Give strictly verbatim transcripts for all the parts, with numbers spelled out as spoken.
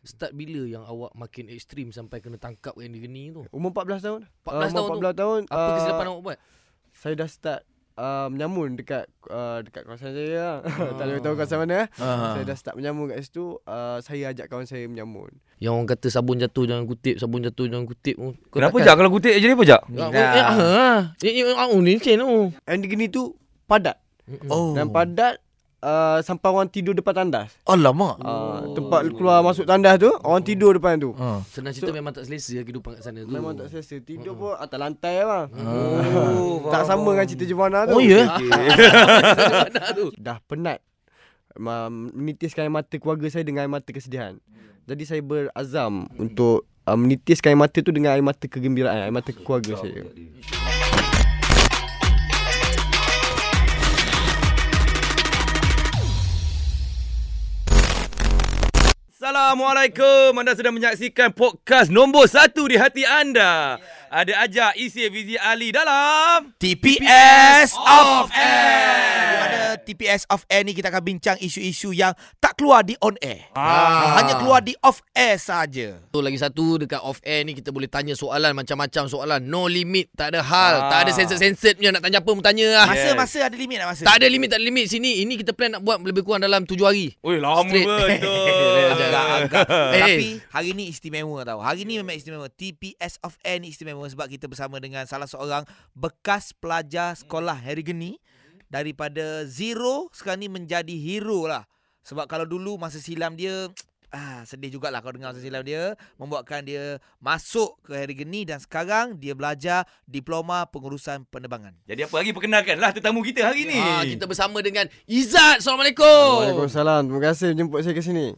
Start bila yang awak makin ekstrim sampai kena tangkap Andy Gani tu? Umur empat belas tahun. empat belas uh, tahun empat belas tu. tahun. Apa uh, kesilapan awak buat? Saya dah start uh, menyamun dekat uh, dekat kawasan saya lah. Tak boleh tahu kawasan mana. Ah. Saya dah start menyamun kat situ. Uh, saya ajak kawan saya menyamun. Yang orang kata sabun jatuh jangan kutip, sabun jatuh jangan kutip. Kau Kenapa takkan- Jak kalau kutip jadi apa Jak? Ya, eh, ah, eh, eh, ah, oh, ni macam tu. Andy Gani tu padat. Oh. Dan padat uh, sampai orang tidur depan tandas. Alamak. Uh, tempat keluar masuk tandas tu, orang tidur depan tu. Ah. Senang cerita So- memang tak selesa kehidupan kat sana tu. Memang tak selesa. Tidur pun atas lantai bang. Oh, Tak sama dengan cerita Jevana tu. Oh ya. Mana tu? Dah penat ma- menitiskan air mata keluarga saya dengan air mata kesedihan. Jadi saya berazam untuk uh, menitiskan air mata tu dengan air mata kegembiraan, air mata keluarga saya. Assalamualaikum. Anda sedang menyaksikan podcast nombor satu di hati anda. Ada Ajak, Isi, Fizi, Ali dalam T P S Off Air. Di mana T P S Off Air ni kita akan bincang isu-isu yang tak keluar di on air. Ah. Hanya keluar di off air saja. Tu lagi satu dekat off air ni kita boleh tanya soalan macam-macam soalan. No limit, tak ada hal, Ah. tak ada censored-censored punya nak tanya apa pun tanya lah. Masa Yes. masa ada limit tak masa? Tak ada limit, tak ada limit. Sini ini kita plan nak buat lebih kurang dalam tujuh hari. Oi, lama Straight. betul. Agak-agak. Eh. Tapi hari ni istimewa tau. Hari ni memang istimewa. T P S Off Air ni istimewa sebab kita bersama dengan salah seorang bekas pelajar sekolah Harry Gani. Daripada zero sekarang ni menjadi hero lah. Sebab kalau dulu masa silam dia ah sedih jugalah kalau dengar masa silam dia, membuatkan dia masuk ke Harry Gani dan sekarang dia belajar diploma pengurusan penerbangan. Jadi apa lagi, perkenalkanlah tetamu kita hari ni. Ah, kita bersama dengan Izzat. Assalamualaikum. Waalaikumsalam. Terima kasih jemput saya ke sini.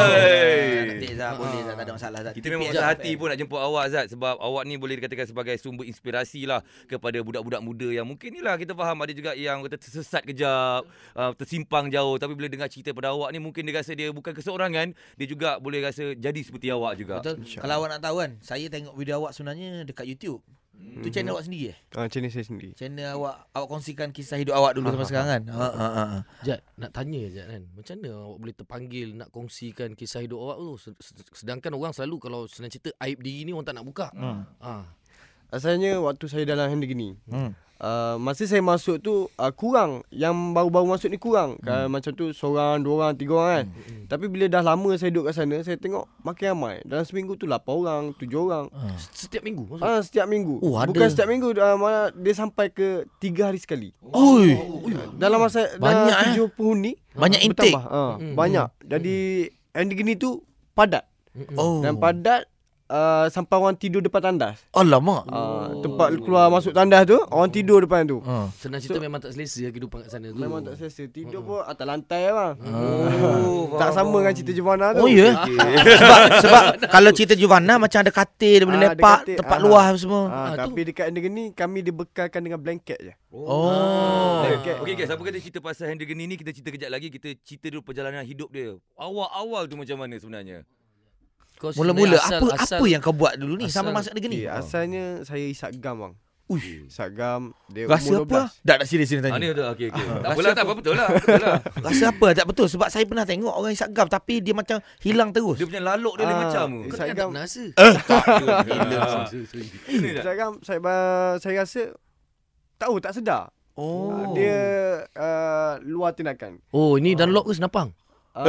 Hai. Nanti Zat boleh Zat, tak ada masalah Zat. Kita memang T P S besar Off hati Air. pun nak jemput awak Zat, sebab awak ni boleh dikatakan sebagai sumber inspirasi lah kepada budak-budak muda yang mungkin ni lah kita faham ada juga yang kata tersesat kejap, uh, tersimpang jauh, tapi bila dengar cerita pada awak ni mungkin dia rasa dia bukan keseorangan, dia juga boleh rasa jadi seperti awak juga. Betul. Kalau awak nak tahu kan, saya tengok video awak sebenarnya dekat YouTube. Hmm. Tu channel awak sendiri eh? Ah, macam ni saya sendiri. Channel awak awak kongsikan kisah hidup awak dulu sampai sekarang kan? Ha ha ha. ha. Jad, nak tanya Jad kan. Macam mana awak boleh terpanggil nak kongsikan kisah hidup awak tu? Sedangkan orang selalu kalau senang cerita aib diri ni orang tak nak buka. Hmm. Ah. Asalnya waktu saya dalam Harry Gani, Hmm. Uh, masa saya masuk tu uh, kurang. Yang baru-baru masuk ni kurang. Hmm. uh, Macam tu seorang, dua orang, tiga orang kan. Hmm. Tapi bila dah lama saya duduk kat sana, saya tengok makin ramai. Dalam seminggu tu lapan orang, tujuh orang. Ha. Setiap minggu maksud? Ah, setiap minggu. Oh, ada. Bukan setiap minggu, uh, malah dia sampai ke tiga hari sekali. Oi, Dalam masa Banyak, dalam tujuh penghuni banyak intake. bertambah. Ah, Hmm. banyak. Jadi Andy Gani tu padat. Oh. Dan padat uh, sampai orang tidur depan tandas. Alamak. Uh, tempat keluar masuk tandas tu, orang tidur depan tu. Ha. Senang cerita memang tak selesa kehidupan kat sana tu. Memang tak selesa. Tidur pun atas lantai bang. Oh, Tak sama dengan cerita Jevana tu. Oh ya. sebab sebab kalau cerita Juvana macam ada katil, dia boleh Ah, ada lepak, katil. tempat Ah. luar semua. Ah, Ah, tapi dekat Andy Gani kami dibekalkan dengan blanket je. Oh. Blanket. Okey guys, apa kata cerita pasal Henry Gani ni, kita cerita kejap lagi, kita cerita dulu perjalanan hidup dia. Awal-awal tu macam mana sebenarnya? Kau Mula-mula sebenarnya apa asal, apa yang kau buat dulu ni asal- sampai masuk negeri ni? Okay, asalnya saya isap gam bang. Uish. Isap gam. Dia Rasa umur dua apa? belas. Dah tak serius ni Ah, tanya. ni betul. Okey okey. Tak Rasa apalah, tak apa? apa, betul lah. Betul lah. Rasa apa? Tak betul sebab saya pernah tengok orang isap gam tapi dia macam hilang terus. Dia punya laluk dia lain Ah, macam tu. Kau Isap tak gam. pernah rasa? Gila. Ini tak? Isap gam saya ba- saya rasa tahu tak sedar. Oh. Ah, Dia uh, luar tindakan. Oh, ini Dunlop ke senapang? Ah,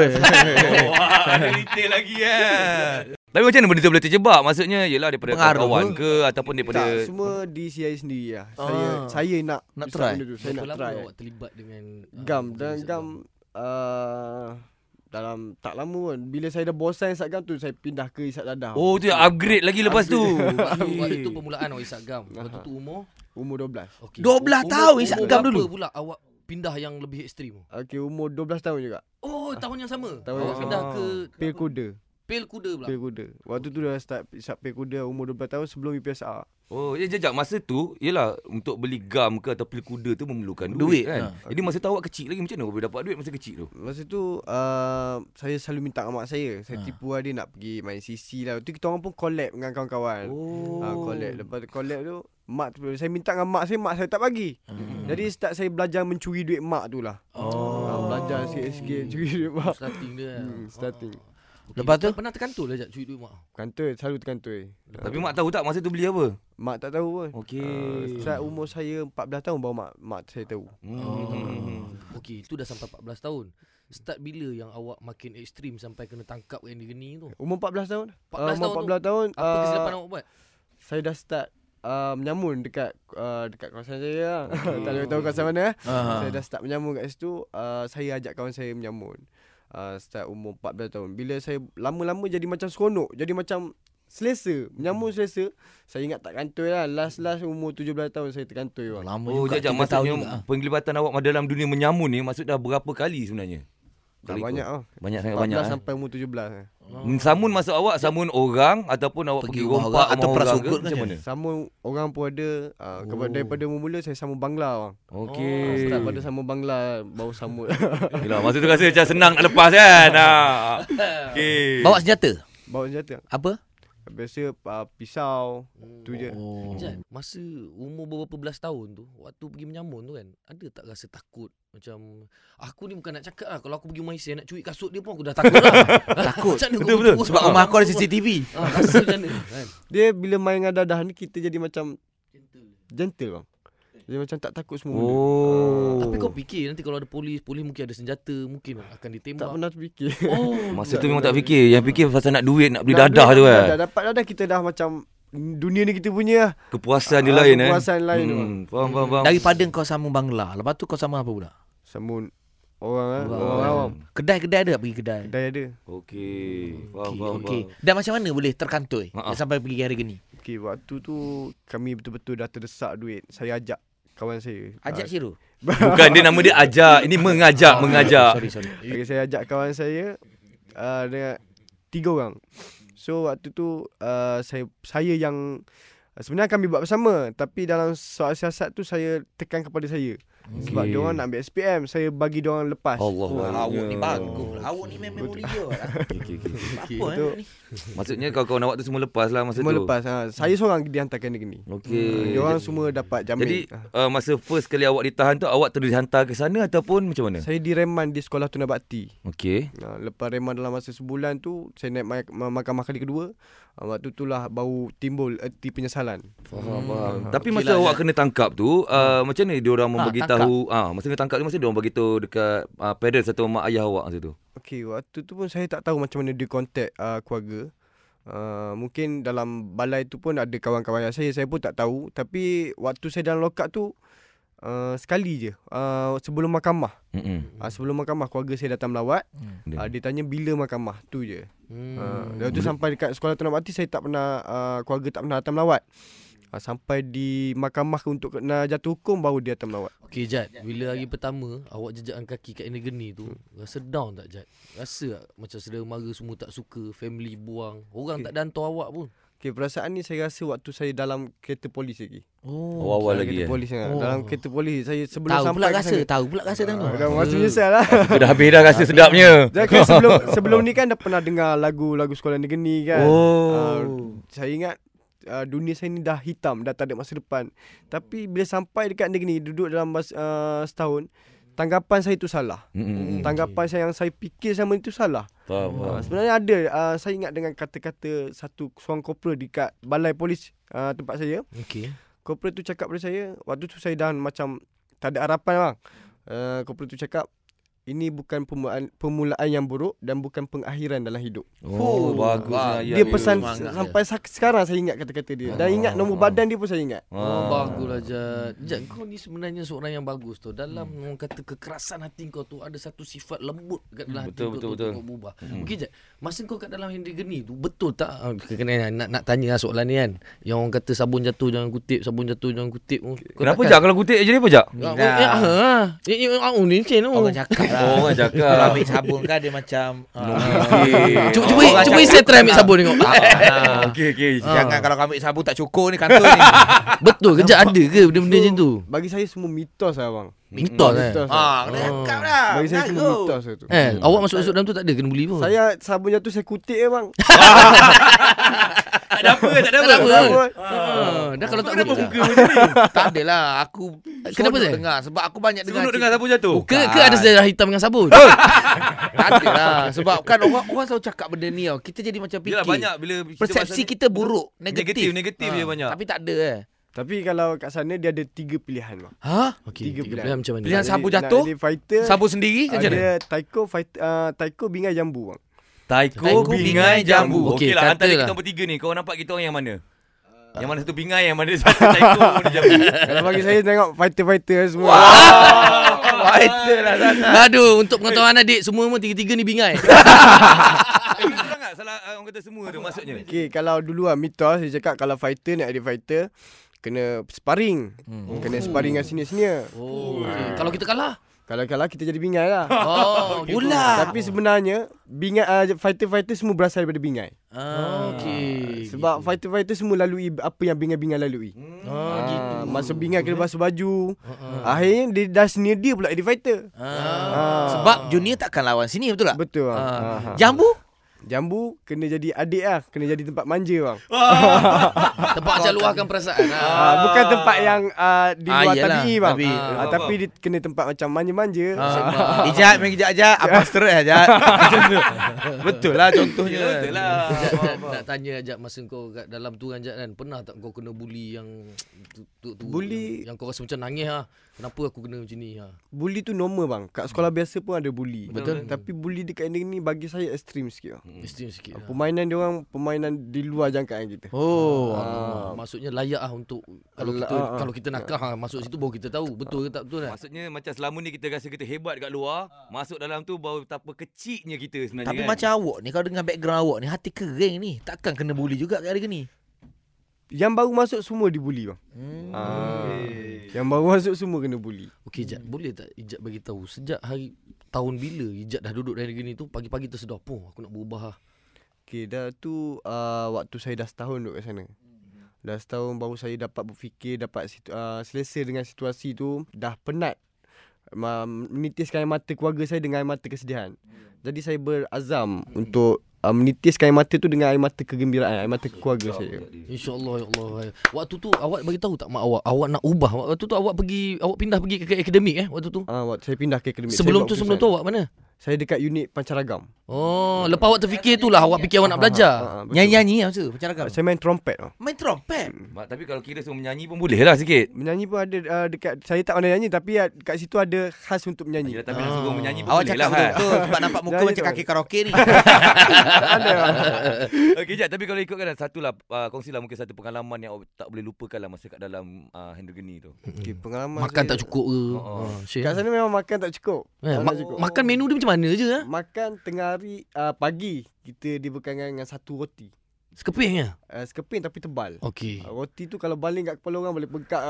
Wah, ada detail lagi eh. Tapi macam mana benda tu boleh terjebak? Maksudnya yelah daripada Pengaruh kawan ke? ke ataupun daripada tak, semua di saya sendiri lah. Saya Ah. saya nak Nak isap try. benda tu. Saya nak Berapa try. lama awak terlibat dengan ah, Gam benda dan isap gam uh, dalam tak lama pun. Bila saya dah bosan isap gam tu, saya pindah ke isap dadah. Oh tu yang upgrade lagi lepas tu. Waktu, waktu tu permulaan awak isap gam. Waktu tu umur Umur dua belas. okay. dua belas Umur- tahun isap umur gam berapa dulu? pula awak pindah yang lebih ekstrim? Okey, umur dua belas tahun juga. Oh, tahun yang sama. Tahun awak yang pindah sama. ke Pil kuda. Pel kuda pula. Pil kuda. Waktu tu dah start isap pil kuda umur dua belas tahun sebelum U P S R. Oh, ya jejak masa tu yelah untuk beli gam ke atau pil kuda tu memerlukan Duit, duit, kan. ha. Jadi masa tu awak kecil lagi, macam mana awak boleh dapat duit masa kecil tu? Masa tu uh, saya selalu minta dengan mak saya. Saya Ha. tipu lah dia nak pergi main C C lah. Tu kita orang pun collab dengan kawan-kawan. Oh. Ha, collab. Lepas tu collab tu mak tu saya minta dengan mak saya, mak saya tak bagi. Hmm. Jadi start saya belajar mencuri duit mak tu lah. Oh. Ha, belajar sikit-sikit curi duit mak. Starting dia. Hmm, starting. Okay, Lepas tu? pernah terkantul lah Jad cuit duit mak. Kantoi, selalu terkantoi. Tapi mak tahu tak masa tu beli apa? Mak tak tahu pun. Okey. Uh, saat umur saya empat belas tahun baru mak mak saya tahu. Hmm. Okey, itu dah sampai empat belas tahun. Start bila yang awak makin ekstrim sampai kena tangkap yang digeni tu? Umur empat belas tahun. empat belas uh, umur tahun empat belas tahun. Apa uh, kesilapan awak buat? Saya dah start uh, menyamun dekat uh, dekat kawasan saya lah. Tak boleh tahu kawasan mana. Aha. Saya dah start menyamun kat situ. Uh, saya ajak kawan saya menyamun. Uh, start umur empat belas tahun. Bila saya lama-lama jadi macam seronok, jadi macam selesa, menyamun selesa. Saya ingat tak kantoi lah. Last-last umur tujuh belas tahun saya terkantoi bang. Lama Oh, juga. jap, tiga tahun maksudnya juga. penglibatan awak dalam dunia menyamun ni maksud dah berapa kali sebenarnya? Dah Kali banyak tu? ah. Banyak sangat empat banyak. belas Eh? sampai umur tujuh belas. Samun maksud awak samun orang ataupun awak Pergi pergi, rumah rompak orang atau rumah orang ke prasukut macam kan? mana? Samun orang pun ada. Uh, Oh. Daripada mula-mula saya sambung Bangla bang. Okey. Oh, start pada sambung Bangla baru sambung. Yelah, masa tu rasa macam senang nak lepas kan. Ha. Okey. Bawa senjata? Bawa senjata. Apa? Biasa uh, pisau tu je. Oh. Jad, masa umur beberapa belas tahun tu, waktu pergi menyamun tu kan, ada tak rasa takut? Macam, aku ni bukan nak cakap lah, kalau aku pergi Malaysia nak curi kasut dia pun aku dah takut lah. Takut. Macam mana Betul, kau betul. betul? Sebab rumah aku ada C C T V. Ah, rasa macam mana kan? Dia bila main dengan dadah ni kita jadi macam gentle bang. Dia macam tak takut semua. benda. Oh. Tapi kau fikir nanti kalau ada polis, polis mungkin ada senjata, mungkin akan ditembak. Tak pernah terfikir. Oh, Masa tu memang tak fikir. Yang fikir pasal nak duit, nak beli Nak dadah duit, tu nak kan. dadah. Dapat dadah kita dah macam dunia ni kita punya lah. Kepuasan dia Ah, lain eh. kepuasan lain tu, Hmm, faham, faham, faham. Daripada kau sambung Bangla, lepas tu kau sambung apa pula? Sambung orang ah, Orang orang awam. Kedai-kedai ada tak pergi kedai? Kedai ada. Okey. Faham, Okey, faham, okey. faham. Dan macam mana boleh terkantoi Ha-ha. sampai pergi hari geni? Okey, waktu tu kami betul-betul dah terdesak duit. Saya ajak kawan saya. Ajak Ah, Syirul. Bukan dia nama dia ajak. Ini mengajak, mengajak. Sorry, sorry. Okay, saya ajak kawan saya uh, dengan tiga orang. So waktu tu uh, saya saya yang sebenarnya kami buat bersama, tapi dalam soal siasat tu saya tekan kepada saya. Okey. Sebab dia orang nak ambil S P M, saya bagi dia orang lepas. Allah. Oh, Allah. awak ni bagus. Awak ni memang mulia lah. Okey, okey, okey. Apa Betul. eh ni? Maksudnya kawan-kawan awak tu semua lepas lah masa Semua tu. lepas. Ha. Saya seorang dihantarkan negeri ni. Okey. Dia orang semua dapat jamin. Jadi Ha. uh, masa first kali awak ditahan tu awak terus dihantar ke sana ataupun macam mana? Saya direman di sekolah Tuna Bakti. Okey. Ha, lepas reman dalam masa sebulan tu, saya naik ma- ma- mahkamah kali kedua. Ha, waktu itulah baru timbul erti penyesalan. Faham, faham. Hmm. Tapi Okey masa lah, awak Zat. kena tangkap tu, uh, macam mana dia orang Ha, membagi tahu? Ah, masa kena tangkap tu masa dia orang bagi tahu dekat uh, parents atau mak ayah awak masa tu. Okey, waktu tu pun saya tak tahu macam mana dia contact uh, keluarga. Uh, mungkin dalam balai tu pun ada kawan-kawan yang saya, saya pun tak tahu. Tapi waktu saya dalam lock up tu, uh, sekali je. Uh, sebelum mahkamah. Hmm. Uh, sebelum mahkamah, keluarga saya datang melawat. Hmm. Uh, dia tanya bila mahkamah, tu je. Hmm. Uh, lepas tu sampai dekat sekolah Tuna Bakti, saya tak pernah, uh, keluarga tak pernah datang melawat. Uh, sampai di mahkamah untuk kena jatuh hukum, baru dia datang melawat. Okey Jad, bila hari pertama awak jejakkan kaki kat Negeri tu, rasa down tak Jad? Rasa tak macam saudara mara semua tak suka, family buang, orang Okey. tak dantor awak pun? Okay, perasaan ni saya rasa waktu saya dalam kereta polis lagi. Oh. Awal-awal Dalam lagi kereta eh. polis oh. Oh. Dalam kereta polis saya sebelum Tahu sampai pula ke rasa, sana. tahu pula rasa tengok. Ah, dah masa menyesal lah. Dah habis dah rasa sedapnya. Jadi kan sebelum sebelum ni kan dah pernah dengar lagu-lagu sekolah negeri kan. Oh. Uh, saya ingat uh, dunia saya ni dah hitam, dah tak ada masa depan. Tapi bila sampai dekat negeri ni, duduk dalam bas, uh, setahun, tanggapan saya tu salah. Hmm. Tanggapan saya yang saya fikir sama itu salah. Faham, Uh, faham. sebenarnya ada uh, saya ingat dengan kata-kata satu seorang korporal dekat balai polis uh, tempat saya. Okey. Korporal tu cakap pada saya, waktu tu saya dah macam tak ada harapan bang. Uh, korporal tu cakap, ini bukan permulaan, permulaan yang buruk dan bukan pengakhiran dalam hidup. Oh, Oh, bagus wah. ayat Dia tu. pesan semangat dia. sampai sak- sekarang saya ingat kata-kata dia. Dan Ah. ingat nombor badan dia pun saya ingat. Oh, Ah. baguslah Jad. Jad, kau ni sebenarnya seorang yang bagus tu. Dalam Hmm. orang kata kekerasan hati kau tu ada satu sifat lembut kat dalam hati Betul, kau betul, tu betul. untuk kau berubah. Hmm. Okey Jad, masa kau kat dalam Henry Geni tu betul tak? Ah, kena nak nak tanya lah soalan ni kan. Yang orang kata sabun jatuh jangan kutip, sabun jatuh jangan kutip. Kau Kenapa takkan- Jak kalau kutip jadi apa Jak? Ah, Ni oh, lah. eh, ah, eh, eh, ah, oh, ni macam Orang mana? cakap lah. Oh, orang cakap. Kalau ambil sabun kan dia macam ah, Okey. Cuba cuba Orang cuba cakap saya try ambil sabun tengok. ah, Okey, okey. Ah. Jangan kalau kau ambil sabun tak cukup ni kantor ni. Betul ke Jad, ada ke benda-benda macam tu? Bagi saya semua mitos lah bang. Mitos eh. Mitos. Ah, kena Oh. cakap dah. Bagi saya semua Mengaku. mitos tu. Eh, awak masuk-masuk dalam tu tak ada kena buli pun. Saya sabun jatuh saya kutip je bang. Tak ada apa, tak ada Tak apa. ada apa. Sabun. Ah, dah kalau tak Kenapa kutip. muka macam ni? Tak adalah. Aku Kenapa, seronok Zai? dengar. Sebab aku banyak dengar. Seronok dengar sabun jatuh. Ke ke ada sejarah hitam dengan sabun? Tak adalah. Sebab kan orang orang selalu cakap benda ni tau. Kita jadi macam fikir. Yalah banyak bila cerita Persepsi pasal kita buruk. ni, Negatif. negatif, negatif dia banyak. Tapi tak ada eh. Tapi kalau kat sana dia ada tiga pilihan bang. Ha? Okey, Tiga tiga pilihan. pilihan macam mana? Pilihan Nak sabun jadi- nak jatuh, jadi fighter. Sabun sendiri macam mana? Ada taiko fighter, uh, taiko bingai jambu bang. Taiko, Taiko, bingai, bingai, jambu. jambu. Okey Okey, lah, antara katalah. kita bertiga ni, kau nampak kita orang yang mana? Yang mana satu bingai, yang mana satu taiko, mana jambu. Kalau bagi saya tengok fighter-fighter semua. Fighter lah sangat. Aduh, untuk pengetahuan adik, semua pun tiga-tiga ni bingai. Eh, kurang tak salah uh, orang kata semua tu maksudnya? Okey, kalau dulu lah mitos saya cakap kalau fighter nak jadi fighter kena sparring. Hmm. Kena sparring dengan senior-senior. Oh, okay. Kalau kita kalah? Kalau kalah kita jadi bingai lah. Oh, gitu. Pula. Tapi sebenarnya bingai uh, fighter-fighter semua berasal daripada bingai. Ah, okey. Sebab fighter-fighter semua lalui apa yang bingai-bingai lalui. Oh, gitu. Ah, masa bingai kena basuh baju. Ah. Akhirnya dia dah senior dia pula jadi fighter. Ah. Ah. Sebab junior takkan lawan sini, betul tak? Betul bang. Ah. Ah. Jambu? Jambu kena jadi adik lah. Kena jadi tempat manja bang. Tempat macam luahkan perasaan. Ah, Ah. bukan tempat yang uh, di Ah, luar iyalah, tabi'i bang. tabi'i. Ah, Faham, tapi dia kena tempat macam manja-manja. Ah. Ijat, main kejap ajak. Apa stres ajak? Betul lah contohnya. Betul lah. Jat, Jat, nak tanya Jat, masa kau kat dalam tu kan Jat kan, pernah tak kau kena bully yang tu, tu, tu, Bully- yang, yang kau rasa macam nangis ah. Kenapa aku kena macam ni ha? Bully tu normal bang. Kat sekolah biasa pun ada bully. Betul. Tapi bully dekat ending ni bagi saya ekstrim sikit. Bang. Extreme sikit. Ah, Lah. Permainan dia orang permainan di luar jangkaan kita. Oh. Ah, maksudnya layak ah untuk kalau Ala- kita ah, ah. kalau kita nakal ha, masuk situ baru kita tahu betul ke tak betul kan. Maksudnya macam selama ni kita rasa kita hebat kat luar, masuk dalam tu baru betapa kecilnya kita sebenarnya. Tapi kan? macam awak ni, kalau dengan background awak ni, hati kering ni, takkan kena bully juga kat hari ni. Yang baru masuk semua dibully bang. Hmm. Ah. Yang baru masuk semua kena bully. Okey Jat, boleh tak Ijat bagi tahu sejak hari tahun bila Ijat dah duduk dari negeri ni tu pagi-pagi tersedar, "Poh, aku nak berubah ah." Okay, dah tu uh, waktu saya dah setahun duduk kat sana. Dah setahun baru saya dapat berfikir, dapat situ, uh, selesa dengan situasi tu. Dah penat uh, menitiskan air mata keluarga saya dengan air mata kesedihan. Jadi saya berazam untuk uh, menitiskan air mata tu dengan air mata kegembiraan, air mata keluarga saya. InsyaAllah ya Allah. Waktu tu awak bagi tahu tak mak awak awak nak ubah. Waktu tu awak pergi awak pindah pergi ke, ke akademik eh waktu tu. Ah, uh, waktu saya pindah ke akademik. Sebelum saya tu buat sebelum tu keputusan. awak mana? Saya dekat unit pancaragam. Oh, lepas awak terfikir tu lah awak fikir awak nak belajar. Ah, ah, betul. Nyanyi-nyanyi macam tu, macam ragam. Saya main trompet. Oh. Main trompet. Mak, tapi kalau kira semua menyanyi pun boleh lah sikit. Menyanyi pun ada uh, dekat, saya tak pandai nyanyi tapi uh, kat situ ada khas untuk menyanyi. Yelah, tapi nak suruh menyanyi pun Awak boleh cakap lah. kan? betul sebab nampak muka Nyanyi macam tu. kaki karaoke ni. Ada. Okey Jat, tapi kalau ikutkan satu lah, uh, kongsilah mungkin satu pengalaman yang awak tak boleh lupakan lah masa kat dalam uh, Hendrogeni tu. Okay, pengalaman Makan saya, tak cukup ke? Oh, oh. Ha, share. Kat sana memang makan tak cukup. Eh, Tak ma- cukup. makan menu dia macam mana je ah? Makan tengah hari uh, pagi kita dibekalkan dengan satu roti. Sekeping ya? Uh, sekeping tapi tebal. Okey. Uh, roti tu kalau baling kat kepala orang boleh bengkak.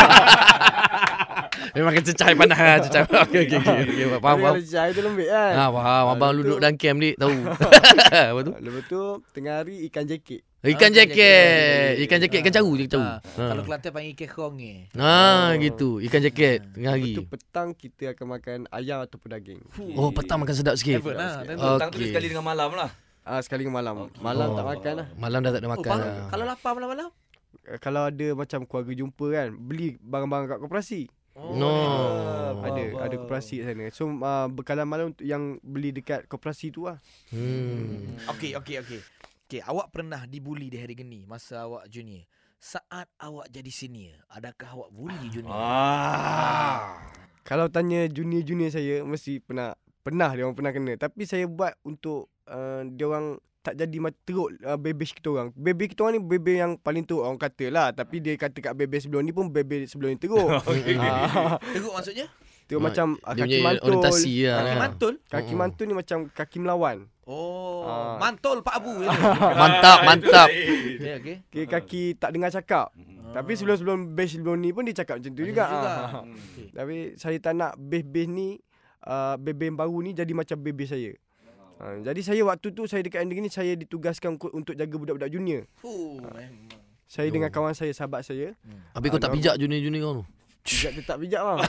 Memang kena cecai panas ah, cecai. Okey okey okey. Okay, faham Tapi faham. kalau cahaya tu lembik kan. Ha, faham. Abang lepas duduk tu- dalam camp dik tahu. Apa tu? Lepas tu tengah hari ikan jekik. Ikan Ah, jaket. Ikan jaket ikan caru je caru. Ah, Kalau Kelantan panggil ikan kong ni. Ha gitu. Ikan jaket tengah Lepas hari. tu petang kita akan makan ayam ataupun daging. Oh, petang makan sedap sikit. Heaven lah. sikit. Tentu. Petang tu dia Okey. sekali dengan malam lah. Ah sekali ke malam. Malam Oh. tak makan lah. Malam dah tak ada Oh, makan bang, lah. kalau lapar malam-malam? Uh, kalau ada macam keluarga jumpa kan, beli barang-barang kat koperasi. No. Ada ada koperasi kat sana. So uh, bekalan malam untuk yang beli dekat koperasi tu lah. Hmm. Okey, okey, okey. Okey, awak pernah dibuli di hari geni masa awak junior. Saat awak jadi senior, adakah awak bully junior? Ah. Kalau tanya junior-junior saya mesti pernah pernah dia orang pernah kena. Tapi saya buat untuk uh, dia orang tak jadi macam teruk uh, bebesh kita orang. Bebe kita orang ni bebe yang paling teruk orang kata lah. Tapi dia kata kat bebe sebelum ni pun bebe sebelum ni teruk. Okey. Ah, Teruk maksudnya? Teruk Ah, macam uh, Dia kaki punya mantul. orientasi lah. Kaki mantul? Kaki Mm-mm. mantul ni macam kaki melawan. Oh, Ah. mantul Pak Abu. ya. Mantap, mantap. Okey, okey. Okay, kaki tak dengar cakap. Tapi sebelum-sebelum base sebelum ni pun dia cakap macam tu juga. juga. Ah. Tapi saya tak nak base-base ni uh, bebe yang baru ni jadi macam bebe saya. Uh, jadi saya waktu tu saya dekat ending ni saya ditugaskan untuk, untuk jaga budak-budak junior. Fuh, memang. Saya dengan kawan saya, sahabat saya. Habis kau tak pijak junior-junior kau tu? Pijak tetap pijak bang.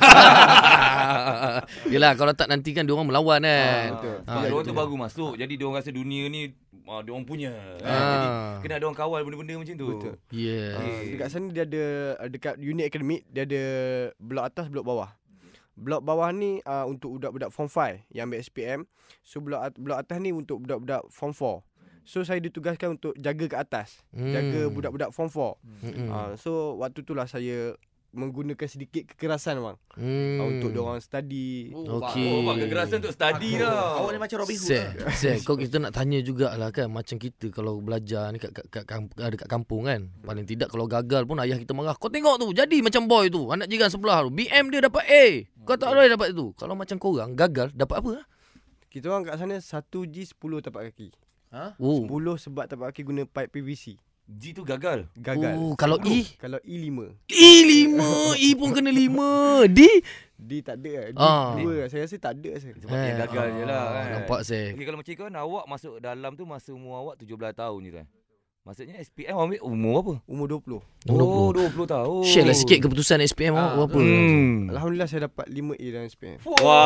Yelah kalau tak nanti kan diorang melawan kan. Betul. Sebab Ah, diorang itu tu dia. baru masuk. Jadi diorang rasa dunia ni ah, diorang punya. Ah. Ah. Jadi kena diorang kawal benda-benda macam tu. Betul. Yeah. Uh, dekat sana dia ada uh, dekat unit akademik dia ada blok atas, blok bawah. Blok bawah ni uh, untuk budak-budak form five yang ambil S P M. So blok at- blok atas ni untuk budak-budak form four. So saya ditugaskan untuk jaga kat atas. Hmm. Jaga budak-budak form four. Mm-mm. Uh, so waktu tu lah saya menggunakan sedikit kekerasan bang. Hmm. Uh, untuk diorang study. Okey. Oh, bang, kekerasan untuk study lah. Awak ni macam Robin Hood Set, lah. set. Kau kita nak tanya jugalah kan, macam kita kalau belajar ni kat, kat, kat, kamp- dekat kampung kan, paling tidak kalau gagal pun ayah kita marah. Kau tengok tu, jadi macam boy tu, anak jiran sebelah tu, B M dia dapat A, kau tak boleh dapat tu. Kalau macam korang gagal dapat apa? Kita orang kat sana satu G sepuluh tapak kaki. Ha? Oh. sepuluh sebab tapak kaki guna pipe P V C. G tu gagal. Gagal. Oh, kalau E? Kalau E lima. E lima, E pun kena lima. D? D tak ada lah. D Ah. dua lah. Saya rasa tak ada saya. Sebab dia gagal je lah kan. Nampak saya. Okey, kalau macam kan awak masuk dalam tu masa umur awak tujuh belas tahun je kan. Maksudnya S P M ambil umur apa? Umur dua puluh. Oh, dua puluh tahun. Share lah sikit keputusan S P M Ah, awak apa? Hmm. Alhamdulillah saya dapat lima A dalam S P M.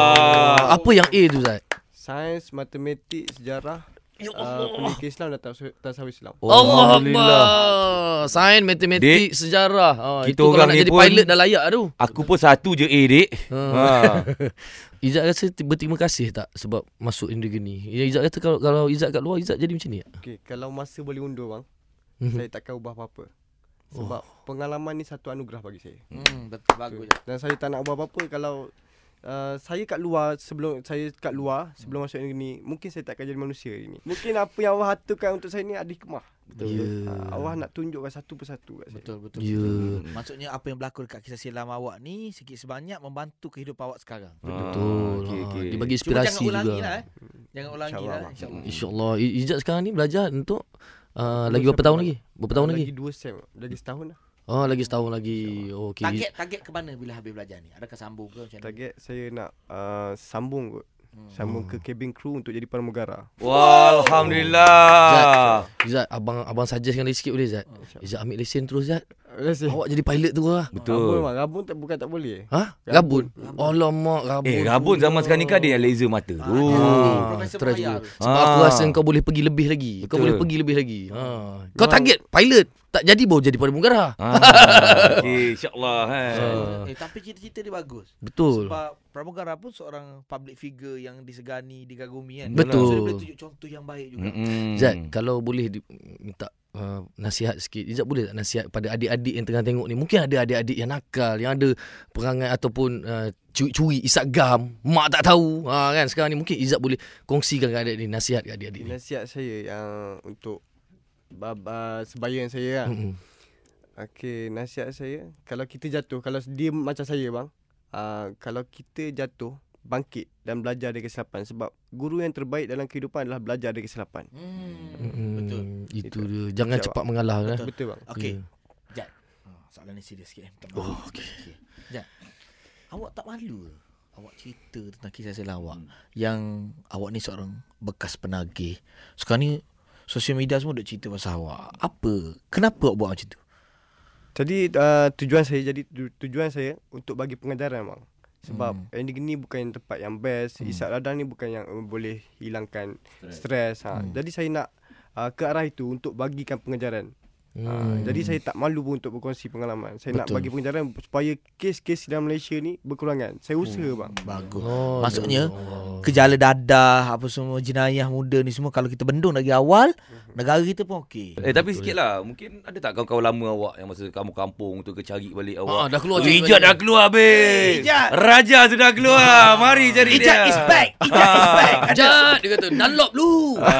Wah. Apa yang A tu Zat? Sains, matematik, sejarah, Ya uh, pendidikan Islam dan tasawuf tasawuf Islam. Allah Alhamdulillah. Akbar. Sains, matematik, sejarah. Ha, kita itu kalau orang nak ni jadi pun- pilot dah layak tu. Aku pun satu je A, Dik. Ha. Ha. Izzat rasa t- berterima kasih tak sebab masuk industri ni. Ya, Izzat kata kalau kalau Izzat kat luar, Izzat jadi macam ni tak? Okey, kalau masa boleh undur bang, Mhm. saya takkan ubah apa-apa. Sebab pengalaman ni satu anugerah bagi saya. Hmm, betul, bagus je. Dan saya tak nak ubah apa-apa kalau uh, saya kat luar sebelum saya kat luar sebelum masuk ni mungkin saya tak akan jadi manusia hari ni. Mungkin apa yang Allah aturkan untuk saya ni ada hikmah. Betul. Ya. Uh, Allah nak tunjukkan satu persatu kat saya. Betul, betul. Ya. betul. Maksudnya apa yang berlaku dekat kisah silam awak ni sikit sebanyak membantu kehidupan awak sekarang. Betul. Okey, Ha, okey. dia bagi Cuma inspirasi jangan ulangi juga. lah eh. Jangan ulangi InsyaAllah, lah bang. insya-Allah. InsyaAllah. I- Izzat sekarang ni belajar untuk uh, lagi Belum berapa sampai tahun mana. lagi? Berapa tahun Uh, lagi? Lagi dua sem, lagi setahun lah. Oh, lagi setahun lagi. Oh, okey. Target target ke mana bila habis belajar ni? Adakah sambung ke macam mana? Target saya nak uh, sambung kot. Hmm. Sambung ke cabin crew untuk jadi pramugara. Wah, Alhamdulillah. Izzat, abang abang suggestkan lagi sikit boleh Izzat? Izzat ambil lesen terus Izzat. Lesen. Awak jadi pilot tu lah. Rabun Betul. bang, rabun tak bukan tak boleh. Ha? Rabun. Alamak, rabun. Eh, rabun zaman sekarang ni kan ada yang laser mata tu. Ah, Profesor try Mahayal. juga. Sebab aku Ah. rasa kau boleh pergi lebih lagi. Kau Betul. boleh pergi lebih lagi. Ha. Kau target pilot, tak jadi baru jadi pramugara. Ah, okey, insya-Allah kan. Ah. Eh, tapi cita-cita dia bagus. Betul. Sebab pramugara pun seorang public figure yang disegani, digagumi kan. Betul. So dia boleh tunjuk contoh yang baik juga. Mm-mm. Zat, kalau boleh di, minta uh, nasihat sikit. Izzat boleh tak nasihat pada adik-adik yang tengah tengok ni? Mungkin ada adik-adik yang nakal, yang ada perangai ataupun uh, curi-curi, isap gam, mak tak tahu. Ha, kan sekarang ni mungkin Izzat boleh kongsikan kat adik ni, nasihat kat adik-adik ni. Nasihat saya yang untuk baba sebayan saya lah. Mm-mm. Okey, nasihat saya kalau kita jatuh, kalau dia macam saya bang, uh, kalau kita jatuh, bangkit dan belajar dari kesilapan sebab guru yang terbaik dalam kehidupan adalah belajar dari kesilapan. Hmm. Mm-mm. Betul. Itu Itu. dia. Jangan Jawab. cepat mengalah. Betul. Betul. Betul bang. Okey. Ya. Jad. Oh, soalan ni serius sikit. eh. Minta Oh, maaf. okey. Okey. Jad. Awak tak malu ke? Awak cerita tentang kisah silam awak yang awak ni seorang bekas penagih. Sekarang ni sosial media semua duk cerita pasal awak. Apa? Kenapa awak buat macam tu? Jadi uh, tujuan saya jadi tu, tujuan saya untuk bagi pengajaran bang. Sebab Hmm. hmm. N D G ni bukan tempat yang best. Hmm. Isap radang ni bukan yang uh, boleh hilangkan stres. Ha. Hmm. Jadi saya nak uh, ke arah itu untuk bagikan pengajaran. Hmm. Uh, jadi saya tak malu pun untuk berkongsi pengalaman. Saya nak Betul. bagi pengajaran supaya kes-kes dalam Malaysia ni berkurangan. Saya usaha bang. Bagus. Oh, Maksudnya, Allah. Kejala dadah, apa semua jenayah muda ni semua kalau kita bendung dari awal, negara kita pun okey. Eh tapi sikit lah, mungkin ada tak kawan-kawan lama awak yang masa kamu kampung untuk ke cari balik Ah, awak? dah keluar Oh, cerita Ijat balik. dah keluar habis. Ijat. Raja sudah keluar. Mari cari dia. Ijat is back. Ijat is back. Jad, dia kata Dunlop lu.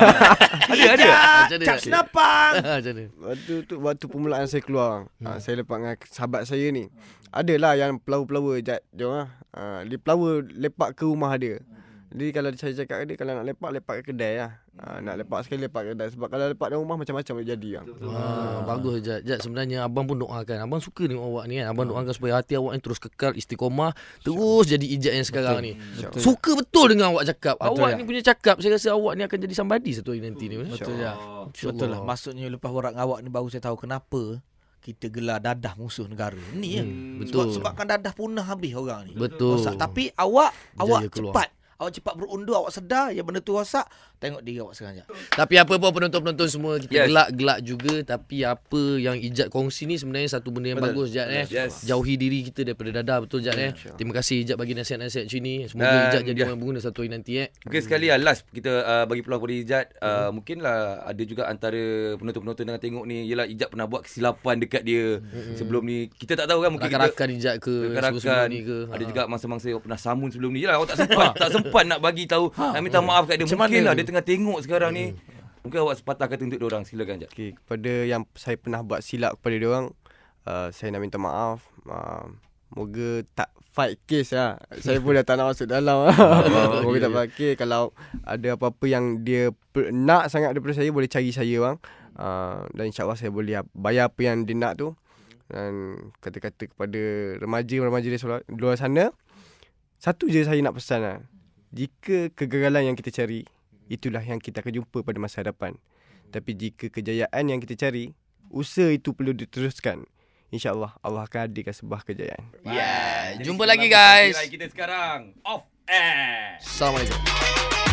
Ada ada. Macam mana? Cap senapang. Macam mana? Waktu tu waktu permulaan saya keluar bang. Hmm. Ha, saya lepak dengan sahabat saya ni. Adalah yang pelawa-pelawa jat dia orang. Ha, dia pelawa lepak ke rumah dia. Jadi kalau saya cakap ke dia kalau nak lepak lepak ke kedai lah. Ha, nak lepak sekali lepak ke kedai sebab kalau lepak dalam rumah macam-macam boleh jadi bang. Ah, bagus Jad. Jad sebenarnya abang pun doakan. Abang suka tengok awak ni kan. Abang doakan supaya hati awak ni terus kekal istiqomah, terus jadi Ijat yang sekarang ni. Betul. Suka betul dengan awak cakap. Betul, Awak ya. ni punya cakap saya rasa awak ni akan jadi somebody satu hari nanti ni. Betul ya. InsyaAllah. Betul lah. Maksudnya lepas borak dengan awak ni baru saya tahu kenapa kita gelar dadah musuh negara. Ni ya. Hmm, betul. Sebab, sebabkan dadah punah habis orang ni. Betul. Rosak. Tapi awak Jaya awak keluar. cepat. Awak cepat berundur, awak sedar yang benda tu rosak, tengok diri awak sekarang je. Tapi apa pun penonton-penonton semua kita Yes. gelak-gelak juga, tapi apa yang Ijat kongsi ni sebenarnya satu benda yang Betul. bagus Ijat eh. Yes. Jauhi diri kita daripada dadah, betul Ijat eh. Terima kasih Ijat bagi nasihat-nasihat macam ni. Semoga Dan Ijat jadi dia- orang berguna satu hari nanti eh. Mungkin sekali lah last kita uh, bagi peluang kepada Ijat. Uh, Mungkinlah ada juga antara penonton-penonton yang tengok ni, yelah Ijat pernah buat kesilapan dekat dia sebelum ni. Kita tak tahu kan, mungkin kita Rakan-rakan Ijat ke sebelum rakan-rakan ni ke. ada Ha. juga masa-masa yang pernah samun sebelum ni. Yelah awak tak sempat tak sempat nak bagi tahu, nak minta maaf kat dia. Macam Mungkin mana lah tu? dia tengah tengok sekarang ni. Mungkin awak sepatah kata untuk dia orang. Silakan Ijat. Okay, kepada yang saya pernah buat silap kepada dia orang, uh, saya nak minta maaf. Uh, moga tak fight case lah. Saya pun dah tak nak masuk dalam. Moga tak fight case. Kalau ada apa-apa yang dia per- nak sangat daripada saya, boleh cari saya bang. Uh, dan insyaAllah saya boleh bayar apa yang dia nak tu. Dan kata-kata kepada remaja-remaja di luar- luar sana, satu je saya nak pesan lah. Jika kegagalan yang kita cari, itulah yang kita akan jumpa pada masa hadapan. Tapi jika kejayaan yang kita cari, usaha itu perlu diteruskan. InsyaAllah Allah akan hadirkan sebuah kejayaan. Yeah, Jadi jumpa sekarang lagi guys. kita sekarang off air. Assalamualaikum.